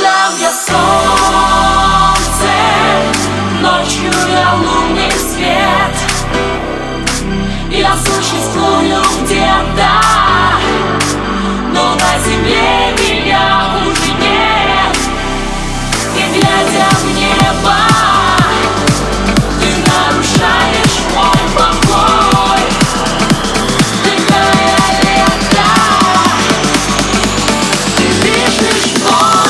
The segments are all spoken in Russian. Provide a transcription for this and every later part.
Утром я солнце, ночью я лунный свет. Я существую где-то, но на земле меня уже нет. И глядя в небо, ты нарушаешь мой покой. Дыхая лето, ты дышишь мной.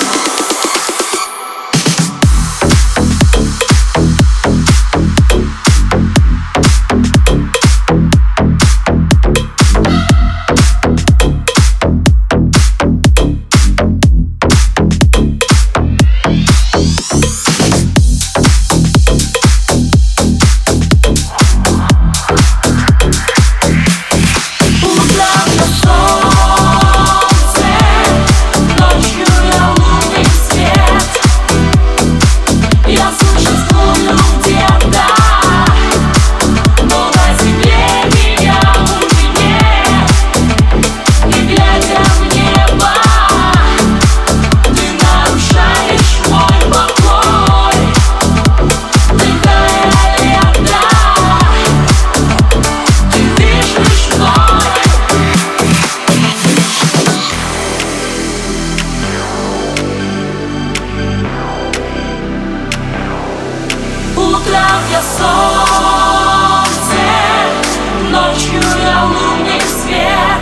Утром я солнце, ночью я лунный свет.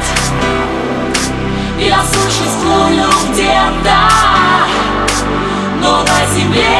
Я существую где-то, но на земле